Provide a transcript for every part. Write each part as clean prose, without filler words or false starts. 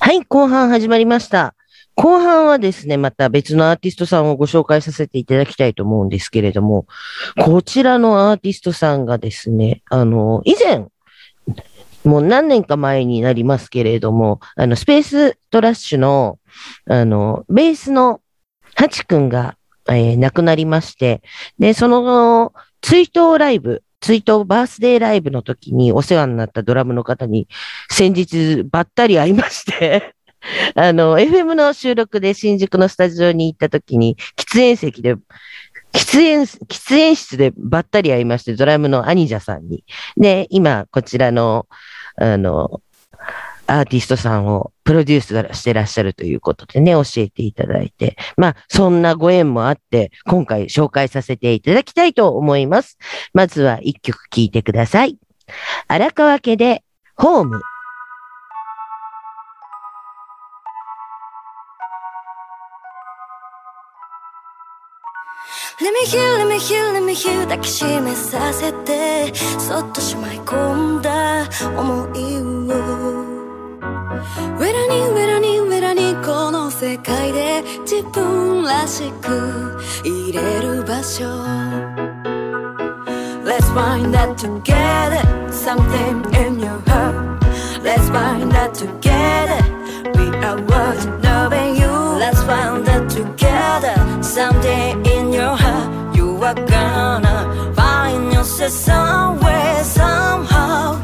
はい、後半始まりました。後半はですね、また別のアーティストさんをご紹介させていただきたいと思うんですけれども、こちらのアーティストさんがですね、以前、もう何年か前になりますけれども、スペーストラッシュの、ベースのハチ君が、亡くなりまして、で、その追悼バースデーライブの時にお世話になったドラムの方に先日ばったり会いましてFM の収録で新宿のスタジオに行った時に喫煙室でばったり会いまして、ドラムのアニジャさんに。で、今、こちらの、アーティストさんをプロデュースしてらっしゃるということでね、教えていただいて。まあ、そんなご縁もあって、今回紹介させていただきたいと思います。まずは一曲聴いてください。荒川家で、ホーム。 Let me hear, let me hear, let me hear 抱きしめさせてそっとしまい込んだ想いをウェラにウェラにウェラにこの世界で自分らしく入れる場所 Let's find that together Something in your heart Let's find that together We are worth knowing you Let's find that together Someday in your heart You are gonna find yourself somewhere somehow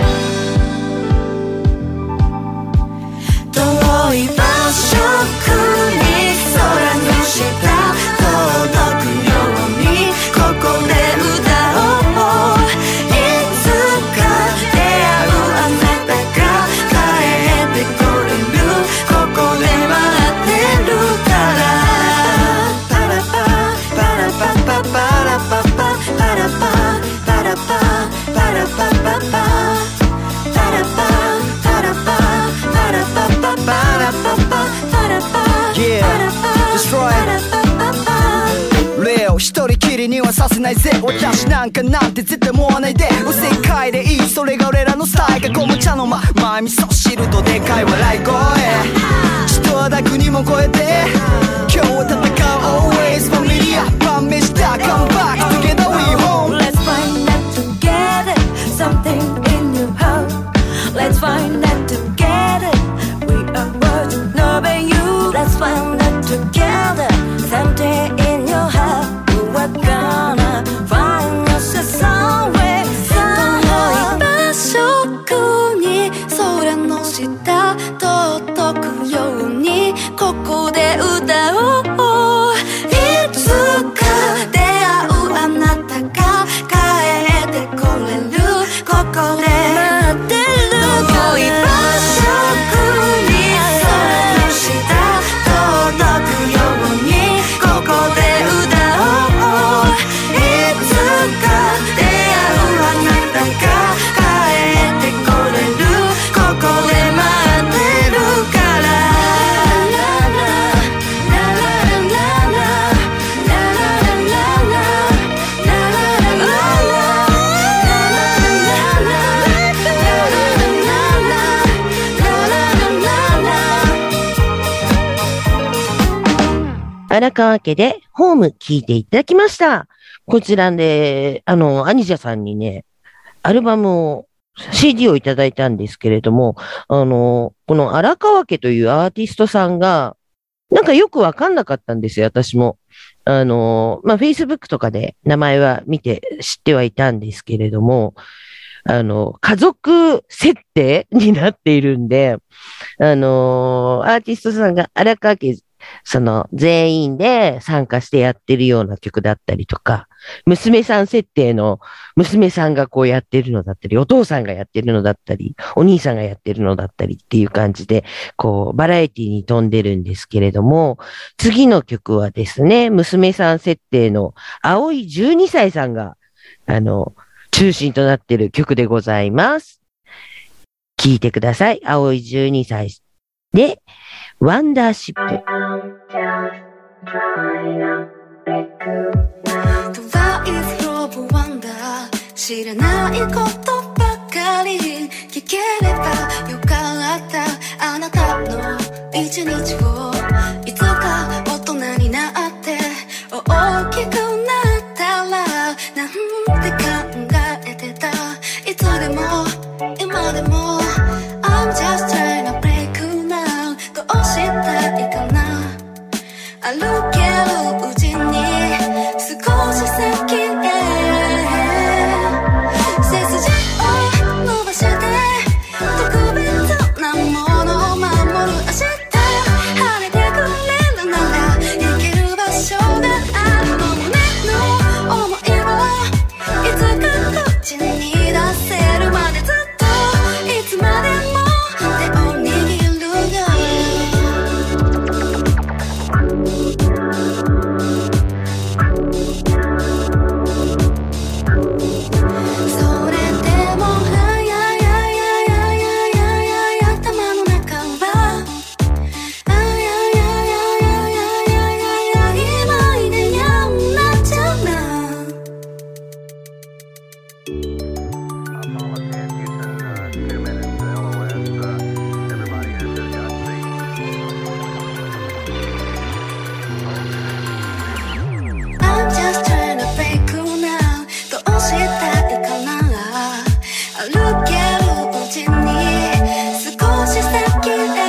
遠い場所に空の下届くようにここで歌おういつか出会うあなたが帰ってこれるここで待ってるからパラパパラパパパラパパパラパパラパパラパパパパラパパラパパラパパパラパパパラパ Yeah, destroy Real 一人きりにはさせないぜ私なんかなんて絶対思わないでおせっかいでいいそれが俺らのスタイルがゴム茶の間前味噌汁とでかい笑い声人は楽にも超えて今日を戦う Always familiar 晩飯だ Come back together we home Let's find that together Something in your heart Let's find that together We are worth knowing you Let's find that together Someday in your heart You are gonna find yourself somewhere somehow 遠い場所に空の下届くようにここで歌おういつか出会うあなたが帰ってこれるここで待ってる遠い場所に空の下届くようにここで歌おういつか出会うあなたが帰ってこれるここで待ってるから荒川家でホーム聞いていただきました。こちらで、アニジャさんにね、アルバムを、CD をいただいたんですけれども、この荒川家というアーティストさんが、なんかよくわかんなかったんですよ、私も。Facebook とかで名前は見て知ってはいたんですけれども、家族設定になっているんで、アーティストさんが荒川家全員で参加してやってるような曲だったりとか、娘さん設定の娘さんがこうやってるのだったり、お父さんがやってるのだったり、お兄さんがやってるのだったりっていう感じで、こう、バラエティに富んでるんですけれども、次の曲はですね、娘さん設定の青い12歳さんが、中心となってる曲でございます。聴いてください。青い12歳で、ワンダーシップ。 知らないことばかり聞ければよかったあなたの一日をいつか大人になって大きくなったらなんて考えてたいつでも今でも I'm just trying to break now どうしたいかな歩けるうちに少し先へ背筋を伸ばして特別なものを守る明日晴れてくれるなら行ける場所があるの胸の想いをいつか口に出せるまでずっといつまでも手を握るよそれでも頭の中は今いでやんなっちゃうなI'm just trying to break you now どうしたいかな歩けるうちに少し先へ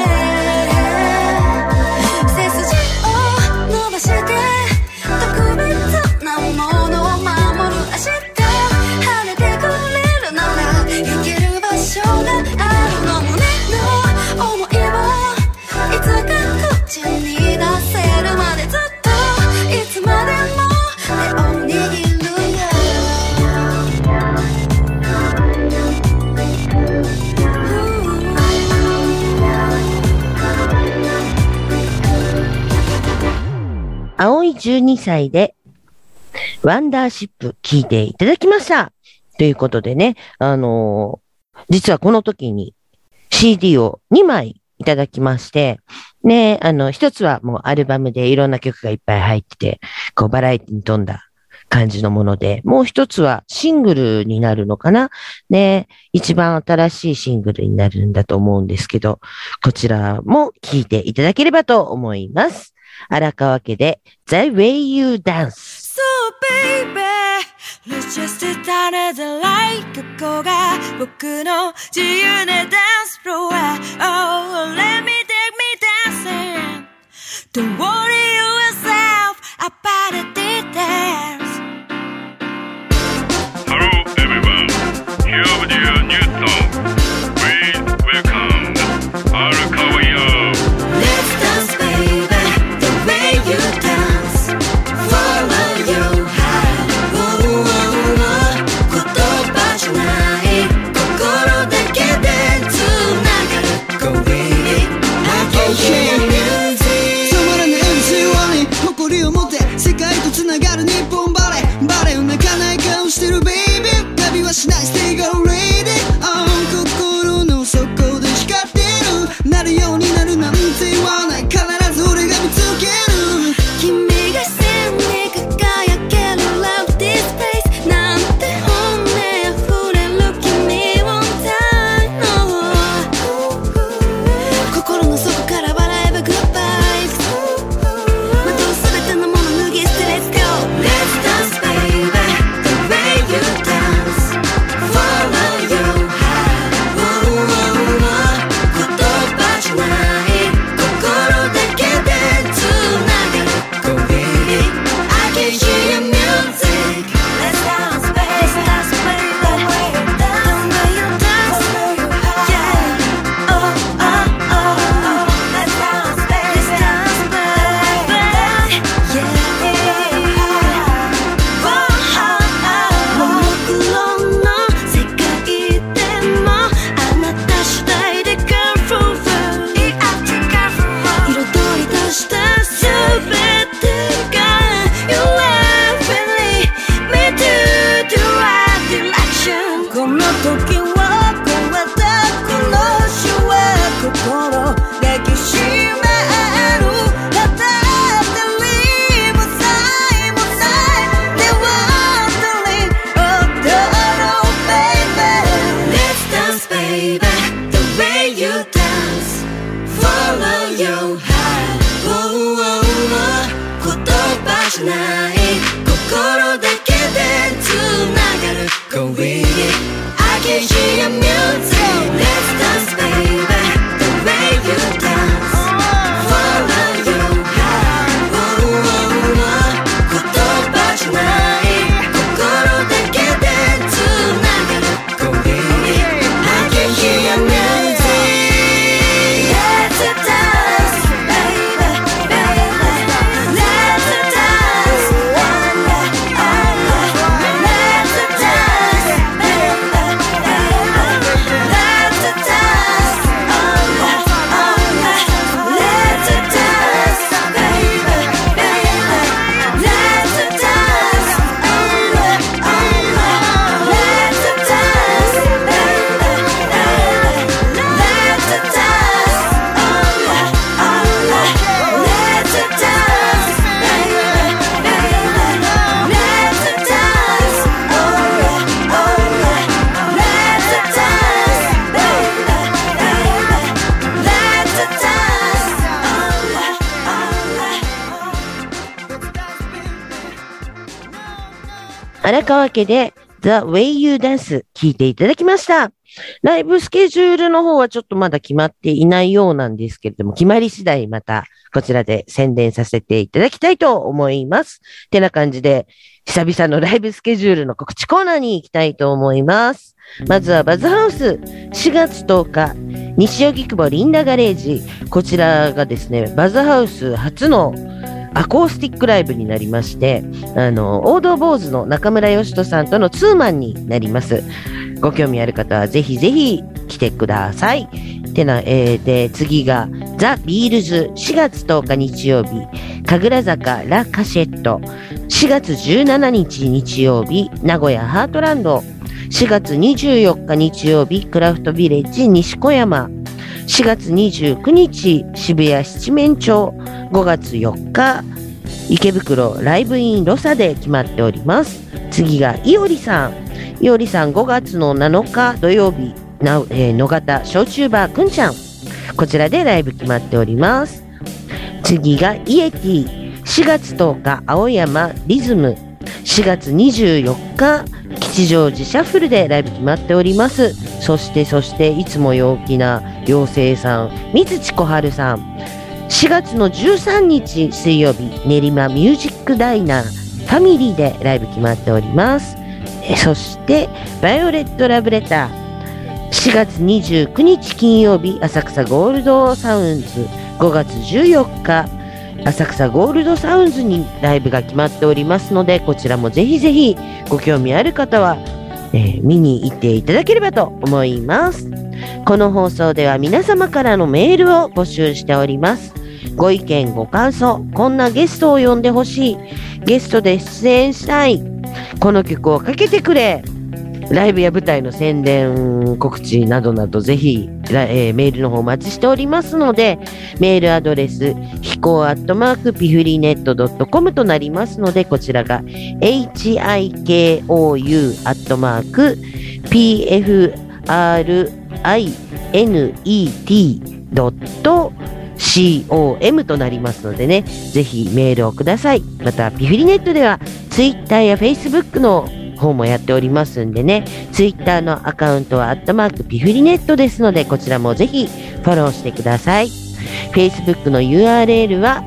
背筋を伸ばして特別なものを守る明日晴れてくれるなら行ける場所があるの胸の想いをいつか口に出せるまでずっといつまでも手を握るよ青い12歳でワンダーシップ聞いていただきました。ということでね、実はこの時に CD を2枚いただきまして、ね、一つはもうアルバムでいろんな曲がいっぱい入ってて、こうバラエティに富んだ感じのもので、もう一つはシングルになるのかなね、一番新しいシングルになるんだと思うんですけど、こちらも聴いていただければと思います。荒川家で The Way You Dance。 So baby, let's just start it like ここが僕の自由なダンスフロア Oh, let me take me dancing Don't worry yourself about the details Hello everyone, here with your new song. Please welcome Arakawa. Let's dance baby, the way you dance Follow your heart oh, oh, oh. 言葉じゃない心だけで繋がる Go with it I can hear music 止まらない your heart 言葉じゃない心だけでつながる Go with it I can hear your music Let's dance baby The way you dance Follow your heart 言葉じゃない心だけでつながる Go with it I can hear your music Let's dance baby baby Let's dance Let's dance baby baby Let's dance Let's dance baby baby Let's dance Let's dance 荒川家で The Way You Dance 聞いていただきました。ライブスケジュールの方はちょっとまだ決まっていないようなんですけれども、決まり次第またこちらで宣伝させていただきたいと思います。てな感じで、久々のライブスケジュールの告知コーナーに行きたいと思います。まずはバズハウス4月10日、西荻窪リンダガレージ。こちらがですね、バズハウス初のアコースティックライブになりまして、王道坊主の中村義人さんとのツーマンになります。ご興味ある方はぜひぜひ来てください。で、次がザ・ビールズ4月10日日曜日、神楽坂ラ・カシェット。4月17日日曜日、名古屋ハートランド。4月24日日曜日、クラフトビレッジ西小山。4月29日、渋谷七面鳥。5月4日、池袋ライブインロサで決まっております。次がいおりさん。いおりさん5月の7日土曜日、野方焼酎バーくんちゃん。こちらでライブ決まっております。次がイエティ。4月10日、青山リズム。4月24日、吉祥寺シャッフルでライブ決まっております。そして、いつも陽気な妖精さん、水地小春さん。4月の13日水曜日、練馬ミュージックダイナーファミリーでライブ決まっております。そして、バイオレットラブレター。4月29日金曜日、浅草ゴールドサウンズ。5月14日、浅草ゴールドサウンズにライブが決まっておりますので、こちらもぜひぜひご興味ある方は、見に行っていただければと思います。この放送では皆様からのメールを募集しております。ご意見ご感想、こんなゲストを呼んでほしい、ゲストで出演したい、この曲をかけてくれ、ライブや舞台の宣伝告知などなどぜひ、メールの方お待ちしておりますので、メールアドレスひこ@pifrinet.com となりますので、こちらが hikoU@pifrinet.com となりますのでね、ぜひメールをください。またピフリネットでは Twitter や Facebook の方もやっておりますんでね、Twitter のアカウントはピフリネットですので、こちらもぜひフォローしてください。Facebook の URL は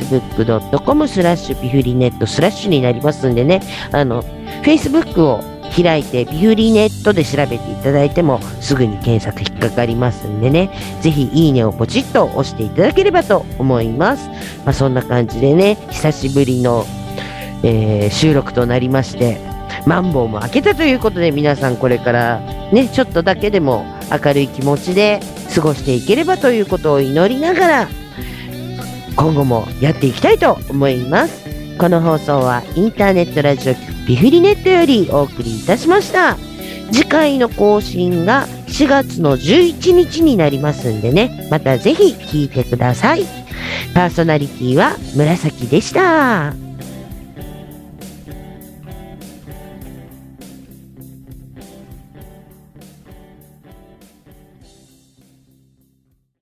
facebook.com/ピフリネット/になりますんでね、Facebook を開いてピフリネットで調べていただいてもすぐに検索引っかかりますんでね、ぜひいいねをポチッと押していただければと思います。そんな感じでね、久しぶりの、収録となりまして、マンボウも明けたということで、皆さんこれからね、ちょっとだけでも明るい気持ちで過ごしていければということを祈りながら、今後もやっていきたいと思います。この放送はインターネットラジオ局ピフリネットよりお送りいたしました。次回の更新が4月の11日になりますんでね、またぜひ聞いてください。パーソナリティは紫でした。